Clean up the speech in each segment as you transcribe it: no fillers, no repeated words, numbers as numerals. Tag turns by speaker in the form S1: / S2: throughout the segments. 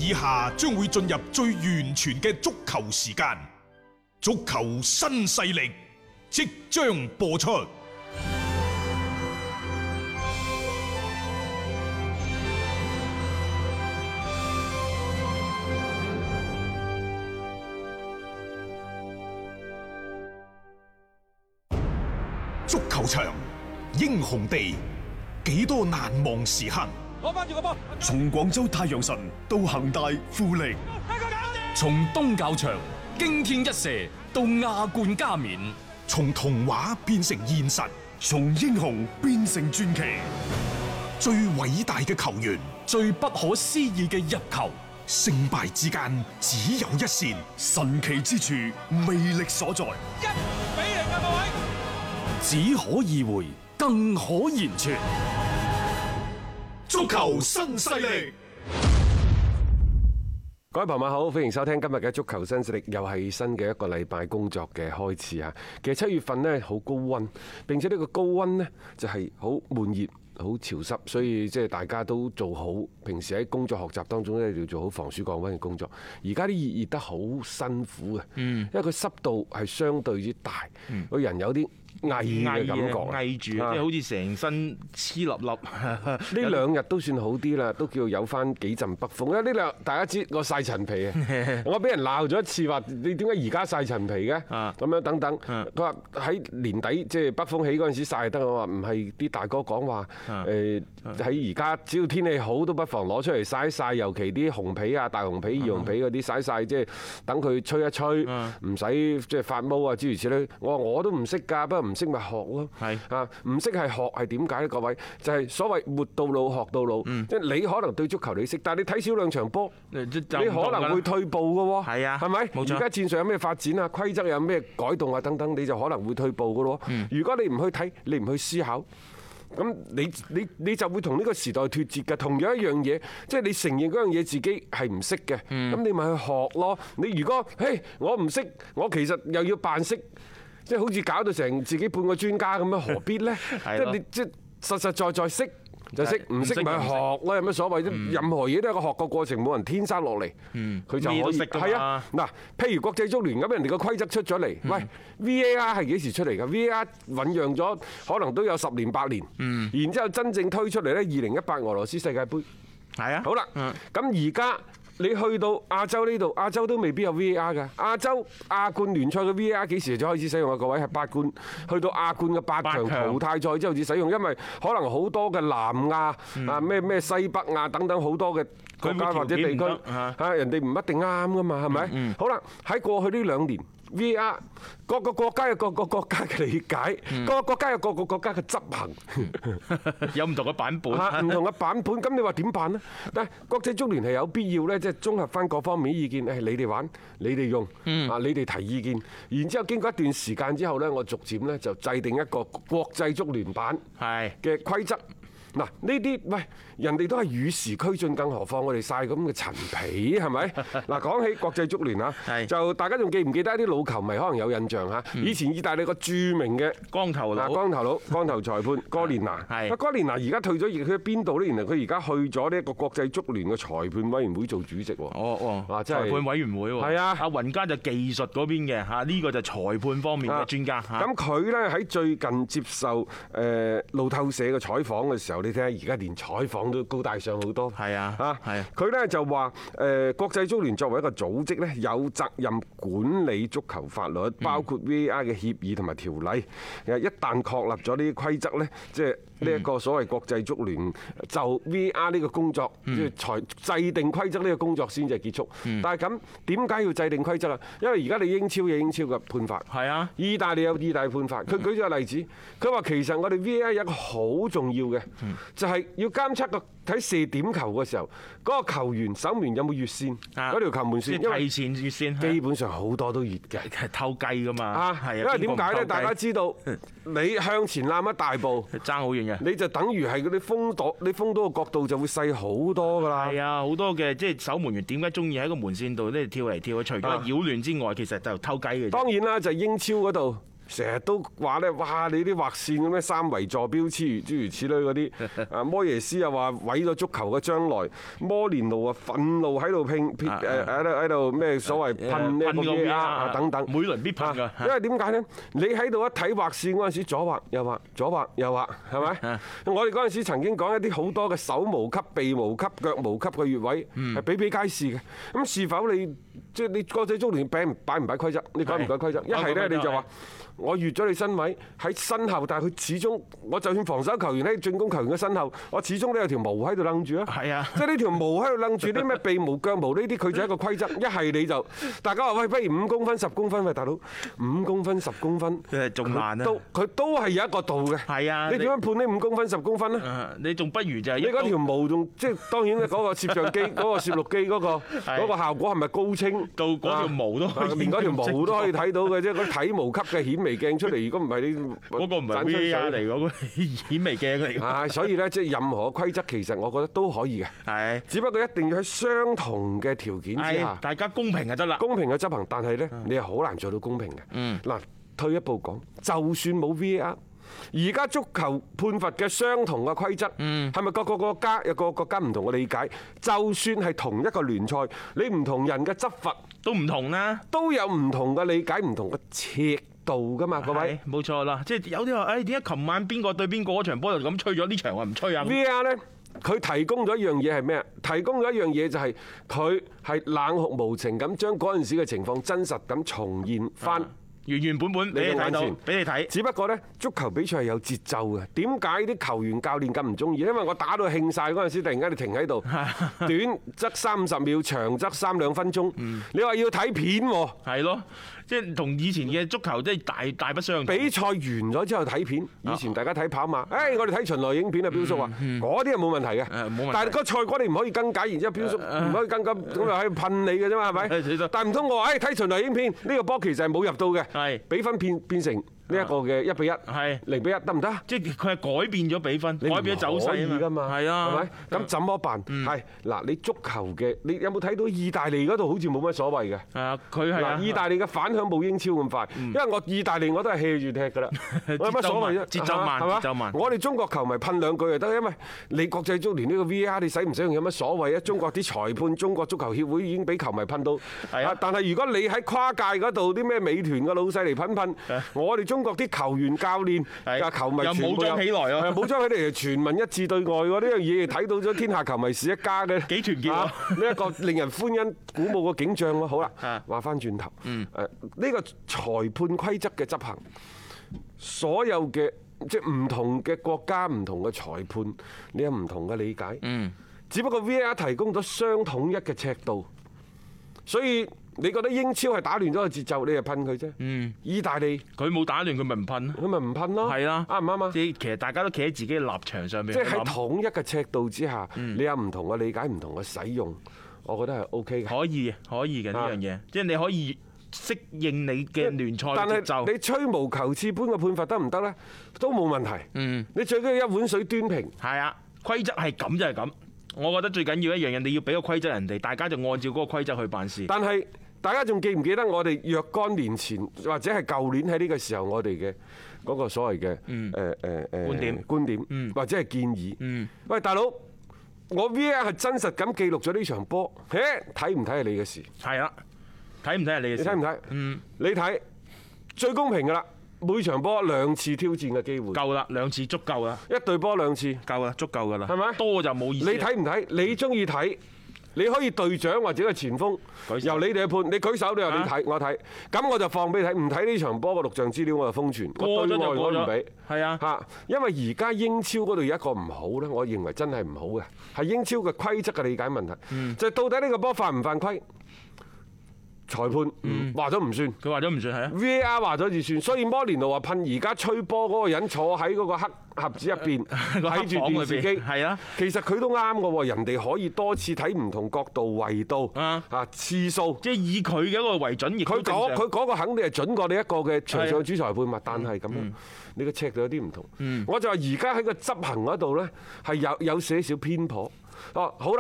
S1: 以下將會進入最完全嘅足球時間，足球新勢力即將播出。足球場，英雄地，幾多難忘時刻。
S2: 攞翻住個波，
S3: 從廣州太陽神到恒大富力，
S4: 從東較場驚天一射到亞冠加冕，
S1: 從童話變成現實，
S3: 從英雄變成傳奇。
S1: 最偉大嘅球員，
S4: 最不可思議嘅入球，
S1: 勝敗之間只有一線，
S3: 神奇之處，魅力所在。
S2: 1-0啊，各位！
S4: 只可意會，更可言傳。
S1: 足球新勢力，
S5: 各位朋友好，歡迎收聽今日嘅足球新勢力，又係新嘅一個禮拜工作嘅開始啊！其實7月份呢，好高溫，並且呢個高溫呢，就係好悶熱。好潮濕，所以即係大家都做好平時喺工作學習當中咧，要做好防暑降溫嘅工作。而家啲熱得好辛苦嘅，因為佢濕度係相對之大，個人有啲翳嘅感覺，
S2: 翳住，即係好似成身黐粒粒。
S5: 呢兩日都算好啲啦，都叫有翻幾陣北風。因為呢兩大家知我曬陳皮啊，我俾人鬧咗一次話你點解而家曬陳皮嘅？咁樣等等。佢話喺年底即係北風起嗰陣時曬得，我話唔係啲大哥講話。喺而家只要天氣好都不妨攞出嚟曬一曬，尤其啲紅皮啊、大紅皮、二紅皮嗰啲曬曬，即係等佢吹一吹，唔使即係發毛啊諸如此類。我話我都唔識㗎，不過唔識咪學咯。係啊，唔識係學係點解咧？各位就係所謂活到老學到老。即係你可能對足球你識，但係你睇少兩場波，你可能會退步㗎喎。係啊，係咪？冇錯。而家戰術有咩發展啊？規則有咩改動啊？等等，你就可能會退步㗎咯。如果你唔去睇，你唔去思考。咁你就會同呢個時代脫節嘅。同樣一樣嘢，即係你承認嗰樣嘢自己係唔識嘅，咁你咪去學咯。你如果我唔識，我其實又要扮識，即係好似搞到成自己半個專家咁樣，何必呢？即係你即係實實在在識。就識唔識咪學咯，有乜所謂啫？任何嘢都係個學個過程，冇人天生落嚟，佢就可以係啊。嗱，譬如國際足聯咁，人哋個規則出咗嚟，喂 VAR 係幾時出嚟㗎？VAR 醖釀咗可能都有10年8年，然之後真正推出嚟呢，2018俄羅斯世界盃係啊。好啦，咁而家。你去到亞洲呢度，亞洲都未必有 VAR 㗎。亞冠聯賽嘅 VAR 幾時就開始使用啊？各位係8冠，去到亞冠嘅8強淘汰賽之後至使用，因為可能好多嘅南亞啊、咩西北亞等等好多嘅國家或者地區嚇，人哋唔一定啱㗎嘛，係咪？好啦，喺過去呢2年。VAR 各個國家有各個國家嘅理解，各個國家有各個國家嘅執行，
S2: 有唔同嘅版本，
S5: 唔同嘅版本。咁你話點辦呢？但係國際足聯係有必要呢，即係綜合翻各方面意見，誒你哋玩，你哋用，啊你哋提意見，然之後經過一段時間之後呢，我逐漸呢就制定一個國際足聯版嘅規則。嗱，呢啲喂人哋都係與時俱進，更何況我哋曬咁嘅陳皮係咪？嗱，講起國際足聯啊，就大家仲記唔記得一啲老球迷可能有印象嚇？以前意大利個著名嘅光頭裁判哥連拿，哥連拿而家退咗役，佢喺邊度呢？原來佢而家去咗呢一個國際足聯嘅裁判委員會做主席喎。
S2: 裁判委員會喎。係啊，阿雲加就技術嗰邊嘅嚇，呢個就裁判方面嘅專家。
S5: 咁佢呢喺最近接受路透社嘅採訪嘅時候，你睇下而家連採訪都高大上好多。係啊，佢呢就話國際足聯作為一個組織呢，有責任管理足球法律，包括 VAR 嘅協議同埋條例。一旦確立咗呢啲規則呢，即係呢一個所謂國際足聯就 VAR 呢個工作，即係才制定規則呢個工作先至係結束。但係咁點解要制定規則啊？因為而家你英超有英超嘅判法，係啊，意大利有意大利判法。佢舉咗個例子，佢話其實我哋 VAR 有一個好重要嘅。就係要監測個睇射點球嘅時候，嗰個球員守門有冇越線，嗰條球門線，因為
S2: 提前越線，
S5: 基本上好多都越嘅，
S2: 係偷雞㗎嘛。
S5: 因為點解呢？大家知道你向前攬一大步，
S2: 爭好遠嘅，
S5: 你就等於係嗰啲封到個角度就會細好多㗎啦。係啊，
S2: 好多嘅即係守門員點解中意喺個門線度咧跳嚟跳去？除咗擾亂之外，其實就偷雞嘅。
S5: 當然啦，就係英超嗰度。 成日都話咧，哇！你啲劃線咁咩三維坐標諸如此類嗰啲，啊摩耶斯又話毀咗足球嘅將來，摩連奴啊憤怒喺度喺度咩所謂噴呢個 VAR 啊等等，
S2: 每輪必噴㗎。
S5: 因為點解呢？你喺度一睇劃線嗰陣時，左劃右劃，左劃右劃，係咪？我哋嗰陣時曾經講一啲好多嘅手無級、臂無級、腳無級嘅越位係比比皆是嘅。咁是否你即係你國際足聯擺唔擺規則？你改唔改規則？一係呢，你就話。我越咗你身位喺身後，但係佢始終，我就算防守球員喺進攻球員嘅身後，我始終都有條毛喺度掕住啊！係啊，即係呢條毛喺度掕住啲咩鼻毛、腳毛呢啲，佢就係一個規則。一係你就大家話喂，不如5公分、10公分，喂大佬5公分、10公分，
S2: 仲難啊！
S5: 佢都係有一個度嘅。係啊，你點樣判呢5公分、10公分呢？你
S2: 仲不如就係
S5: 你嗰條毛仲即係當然咧，嗰個攝像機、嗰個攝錄機嗰個效果係咪高清
S2: 到嗰條毛都可以
S5: 連嗰條毛都可以睇到嘅啫？嗰啲體毛級嘅顯微鏡出嚟，如果唔係你
S2: 嗰個唔係 VAR 嚟，嗰個顯微鏡嚟。
S5: 係，所以咧即係任何規則其實我覺得都可以嘅。係，只不過一定要喺相同嘅條件之下，大家公平就得啦。公平嘅執行，但係咧你係好難做到公平嘅。嗱，退一步講，就算冇 VAR，而家足球判罰嘅相同嘅規則，係咪各個國家有個國家唔同嘅理解？就算係同一個聯賽，你唔同人嘅執法
S2: 都唔同啦，
S5: 都有唔同嘅理解、唔同嘅尺度㗎嘛，各位。
S2: 冇錯啦，即係有啲話，誒點解琴晚邊個對邊個嗰場波就咁吹咗，呢場話唔吹啊
S5: ？VAR 呢，佢提供咗一樣嘢係咩啊？提供咗一樣嘢就係佢係冷酷無情咁將嗰陣時嘅情況真實咁重現翻。
S2: 原原本本俾你睇到，俾你睇。
S5: 只不過呢，足球比賽係有節奏嘅。點解啲球員教練咁唔中意？因為我打到興晒嗰陣時，突然間你停喺度，短則30秒，長則3-2分鐘。你話要睇片喎？係咯。即係同以前嘅足球即係大不相同。比賽完咗之後睇片，以前大家睇跑馬，誒我哋睇巡邏影片啊，彪叔話嗰啲係冇問題嘅。冇問題。但係個賽果你唔可以更改，然之後彪叔唔可以更改，咁又喺度噴你嘅啫嘛，係咪？但係唔通我話誒睇巡邏影片呢個波其實係冇入到嘅，比分變成呢一個嘅1-1，係0-1得唔得？即係佢係改變咗比分，改變咗走勢啊嘛。係啊，係咪？咁怎麼辦？係嗱，你足球嘅你有冇睇到意大利嗰度好似冇乜所謂嘅？係啊，佢係嗱，意大利嘅反響冇英超咁快，因為我意大利我都係 hea 住踢㗎啦，有乜所謂啫？節奏慢，節奏慢。我哋中國球迷噴兩句就得，因為你國際足聯呢個 VAR 你使唔使用有乜所謂啊？中國啲裁判、中國足球協會已經俾球迷噴到。係啊，但係如果你喺跨界嗰度啲咩美團嘅老細嚟噴，我哋中國啲球員、教練、球迷全部武裝起來啊！武裝起嚟，全民一致對外喎！呢樣嘢睇到咗天下球迷是一家嘅，幾團結啊！呢一個令人歡欣鼓舞嘅景象喎。好啦，話翻轉頭，呢個裁判規則嘅執行，所有嘅即係唔同嘅國家、唔同嘅裁判，你有唔同嘅理解。只不過 VAR 提供咗相統一嘅尺度，所以。你覺得英超係打亂咗個節奏，你就噴佢啫。意大利佢冇打亂，佢咪唔噴咯。佢咪唔噴咯。係啦，啱唔啱啊？即係其實大家都企喺自己嘅立場上面。即係喺統一嘅尺度之下，你有唔同嘅理解、唔同嘅使用，我覺得係 OK 嘅。可以嘅呢樣嘢，即係你可以適應你嘅聯賽節奏。但係你吹毛求疵般嘅判罰得唔得咧？都冇問題。你最緊要一碗水端平。係啊，規則係咁就係咁。我覺得最緊要一樣嘢，你要俾個規則人哋，大家就按照嗰個規則去辦事。但係大家仲記唔記得我哋若干年前或者係舊年喺呢個時候我哋嘅嗰個所謂嘅觀點或者係建議？喂，大佬，我 VAR 係真實咁記錄咗呢場波，睇唔睇係你嘅事？係啊，睇唔睇係你嘅事？你睇唔睇？你睇最公平㗎啦。每場波2次挑戰嘅機會夠啦，2次足夠啦。一隊波2次夠啦，足夠㗎啦。係咪？多就冇意思。你睇唔睇？你中意睇？你可以隊長或者個前鋒由你哋去判。你舉手，你話你睇，我睇。咁我就放俾你睇。唔睇呢場波嘅錄像資料，我就封存。過咗就過咗。唔俾。係啊。嚇，因為而家英超嗰度有一個唔好咧，我認為真係唔好嘅，係英超嘅規則嘅理解問題。就係到底呢個波犯唔犯規？裁判話咗唔算，佢話咗唔算係啊。VAR 話咗就算，所以摩連奴話噴而家吹波嗰個人坐喺嗰個黑盒子入邊睇住電視機，係啊。其實佢都啱嘅喎，人哋可以多次睇唔同角度、維度啊次數，即係以佢嘅一個為準。佢嗰個肯定係準過你一個嘅場上主裁判嘛，但係咁樣你個尺度有啲唔同。我就話而家喺個執行嗰度咧係有些少偏頗。哦，好啦。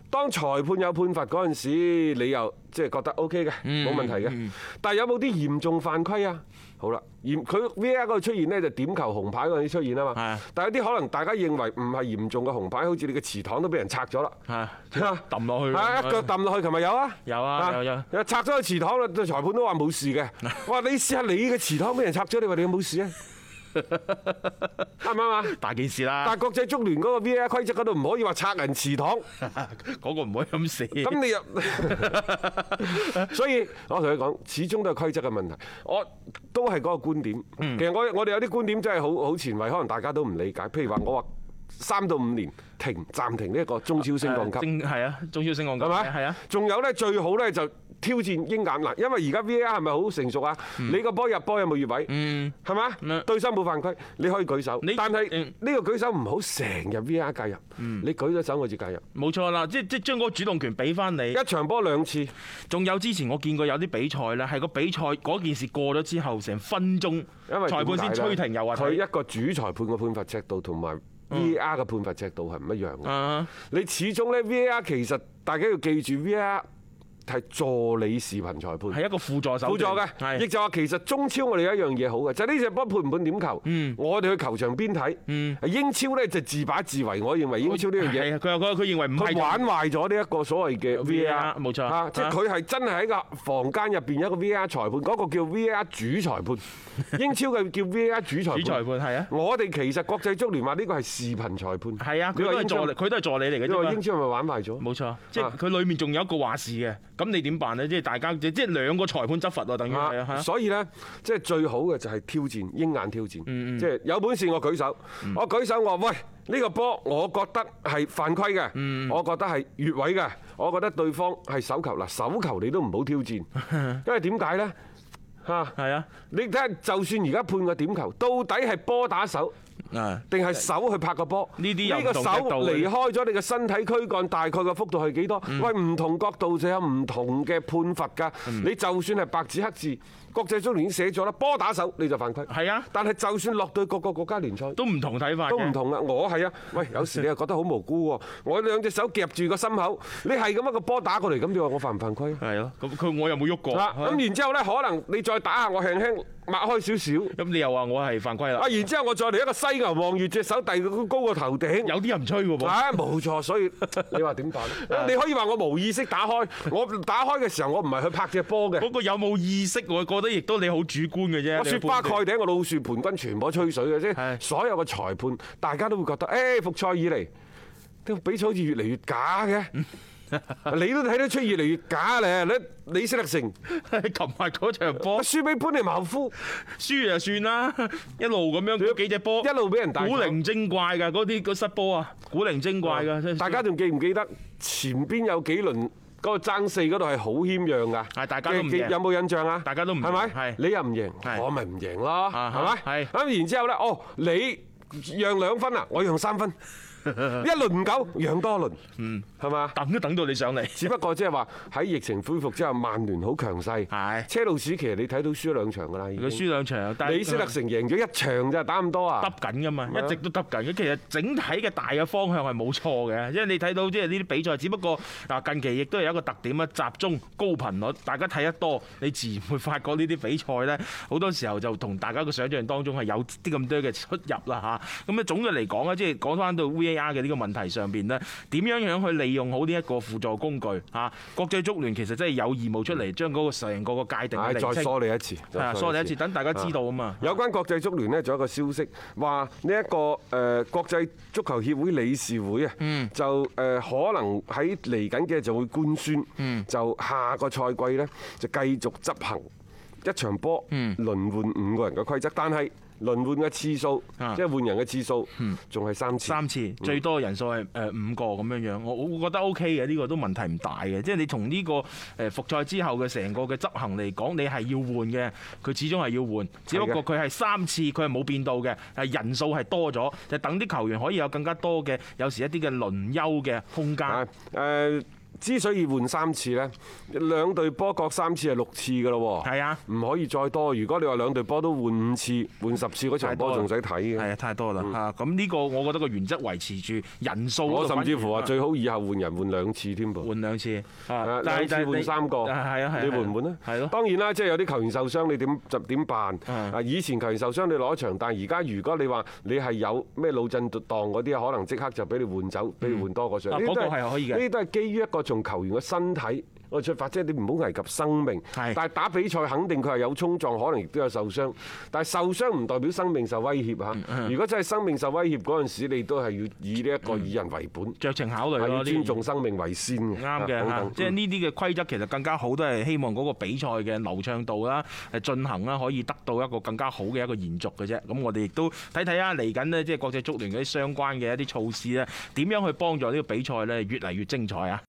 S5: 當裁判有判罰嗰陣時，你又即係覺得 OK 嘅，冇問題嘅。但係有冇啲嚴重犯規啊？好啦，佢 VAR 嗰度出現呢，就點球紅牌嗰陣時出現啊嘛。但係有啲可能大家認為唔係嚴重嘅紅牌，好似你嘅祠堂都俾人拆咗啦。
S2: 揼落去。
S5: 一腳揼落去，琴日有啊。
S2: 有啊，有。
S5: 拆咗個祠堂啦，裁判都話冇事嘅。我話你試下你嘅祠堂俾人拆咗，你話你有冇事啊？啱唔啱啊？
S2: 大件事啦！
S5: 但係國際足聯嗰個 VAR 規則嗰度唔可以話拆人祠堂，
S2: 嗰個唔可以咁寫。
S5: 咁你又，所以我同你講，始終都係規則嘅問題。我都係嗰個觀點。其實我哋有啲觀點真係好前衞，可能大家都唔理解。譬如話我話3到5年暫停呢一個中超升降級，
S2: 係啊，中超升降級係咪？係啊。
S5: 仲有咧，最好咧就挑戰鷹眼嗱，因為而家 VAR 係咪好成熟啊？你個波入波有冇越位？係嘛？對手冇犯規，你可以舉手。但係呢個舉手唔好成日 VAR 介入。你舉咗手我至介入。冇錯啦，
S2: 即將嗰個主動權俾翻你。
S5: 一場波2次。
S2: 仲有之前我見過有啲比賽咧，係個比賽嗰件事過咗之後，成分鐘裁判先吹停又話
S5: 佢一個主裁判嘅判罰尺度同埋 VAR 嘅判罰尺度係唔一樣嘅。你始終咧 VAR 其實大家要記住 VAR。係助理視頻裁判，
S2: 係一個輔助手段，輔助
S5: 嘅，亦就話其實中超我哋有一樣嘢好嘅，就係呢隻波判唔判點球，我哋去球場邊睇。英超咧就自把自為，我認為英超呢樣嘢，
S2: 佢認為唔係，
S5: 佢玩壞咗呢一個所謂嘅 VAR，
S2: 冇錯，
S5: 即係佢係真係喺個房間入邊有一個 VAR 裁判，嗰個叫 VAR 主裁判，英超嘅叫 VAR 主裁判。
S2: 主裁判係啊，
S5: 我哋其實國際足聯話呢個係視頻裁判，
S2: 係啊，佢都係助理嚟嘅啫嘛。
S5: 因為英超係咪玩壞咗？
S2: 冇錯，即係佢裡面仲有一個話事嘅。咁你點辦呢？即係大家即係兩個裁判執法喎，等於係啊。
S5: 所以呢，即係最好嘅就係挑戰，鷹眼挑戰。即係有本事我舉手，我舉手我話喂，呢個波我覺得係犯規嘅，我覺得係越位嘅，我覺得對方係手球嗱，手球你都唔好挑戰，因為點解呢？嚇係啊！你睇下，就算而家判個點球，到底係波打手，定係手去拍個波？呢個手離開咗你嘅身體軀幹，大概嘅幅度係幾多？喂，唔同角度就有唔同嘅判罰㗎。你就算係白紙黑字，國際足聯已經寫咗啦，波打手你就犯規。係啊，但係就算落到各個國家聯賽，都唔同睇法，都唔同啦。我係啊，喂，有時你又覺得好無辜喎。我兩隻手夾住個心口，你係咁一個波打過嚟，咁你話我犯唔犯規？係咯，咁我又冇喐過。咁然之後咧，可能你再打下我輕輕擘開少少，咁你又話我係犯規啦。啊，然之後我再嚟一個犀牛望月，隻手遞到高過頭頂，有啲人唔吹喎噃。啊，冇錯，所以你話點辦？你可以話我無意識打開，我打開嘅時候我唔係去拍隻波嘅。嗰個有冇意識？我覺得亦都你好主觀嘅啫。我雪花蓋頂，我老樹盤根全部吹水嘅啫。所有嘅裁判，大家都會覺得，誒復賽以嚟，啲比賽好似越嚟越假嘅。你都睇得出越嚟越假咧！李斯特城琴日嗰場波輸俾潘尼茅夫，輸就算啦，一路咁樣嗰幾隻波，一路俾人打古靈精怪㗎，嗰啲失波啊，古靈精怪㗎。大家仲記唔記得前邊有幾輪嗰個爭四嗰度係好謙讓㗎？係大家都唔贏，有冇印象啊？大家都唔係咪？你又唔贏，我咪唔贏咯，係咪？係咁然之後咧，哦，你讓2分啊，我讓3分。一輪唔夠，讓多輪，係嘛？等都等到你上嚟。只不過即係話喺疫情恢復之後，曼聯好強勢。係車路士其實你睇到輸咗2場㗎啦，佢輸2場，但係李斯特城贏咗1場咋，打咁多啊？揼緊㗎嘛，一直都揼緊嘅。其實整體嘅大嘅方向係冇錯嘅，因為你睇到即係呢啲比賽，只不過嗱近期亦都有一個特點啊，集中高頻率，大家睇得多，你自然會發覺呢啲比賽咧，好多時候就同大家嘅想象當中係有啲咁多嘅出入啦嚇。咁啊總嘅嚟講咧，即係講翻到 VAR 嘅呢個問題上邊呢，點樣去利用好呢一個輔助工具嚇？國際足聯其實真係有義務出嚟將嗰個成個界定釐清，再梳理一次，梳理一次，等大家知道啊嘛。有關國際足聯呢，仲有一個消息話呢一個國際足球協會理事會啊，就可能喺嚟緊嘅就會官宣，就下個賽季呢，就繼續執行一場波輪換5個人嘅規則，但係輪換嘅次數，即係換人嘅次數，仲係3次。3次最多人數係5個咁樣樣，我覺得 OK 嘅，呢個都問題唔大嘅。即係你從呢個復賽之後嘅成個嘅執行嚟講，你係要換嘅，佢始終係要換。只不過佢係3次，佢係冇變到嘅，係人數係多咗，就等啲球員可以有更加多嘅，有時一啲嘅輪休嘅空間。 之所以換3次呢，兩隊波各3次係6次㗎咯喎。
S2: 係啊，
S5: 唔可以再多。如果你話兩隊波都換5次、換10次嗰場波，仲使睇嘅。
S2: 係啊，太多啦嚇。咁呢個我覺得個原則維持住人數。
S5: 我甚至乎話最好以後換人換2次添噃。
S2: 換2次，
S5: 兩次換3個。
S2: 係啊，
S5: 你換唔換呢？
S2: 係咯。
S5: 當然啦，即係有啲球員受傷，你點辦？以前球員受傷你攞一場，但係而家如果你話你係有咩腦震盪嗰啲，可能即刻就俾你換走，俾你換多個上。
S2: 嗰個係可以嘅。
S5: 呢啲都係基於一個從球員嘅身體我出發，即係你唔好危及生命。但係打比賽肯定佢係有衝撞，可能亦都有受傷。但係受傷唔代表生命受威脅嚇。如果真係生命受威脅嗰陣時，你都係要以呢一個以人為本，
S2: 酌情考慮咯。
S5: 要尊重生命為先嘅。
S2: 啱嘅，即係呢啲嘅規則其實更加好，都係希望嗰個比賽嘅流暢度啦、進行啦，可以得到一個更加好嘅一個延續嘅啫。咁我哋亦都睇睇啊，嚟緊呢，即係國際足聯嗰啲相關嘅一啲措施咧，點樣去幫助呢個比賽咧越嚟越精彩啊！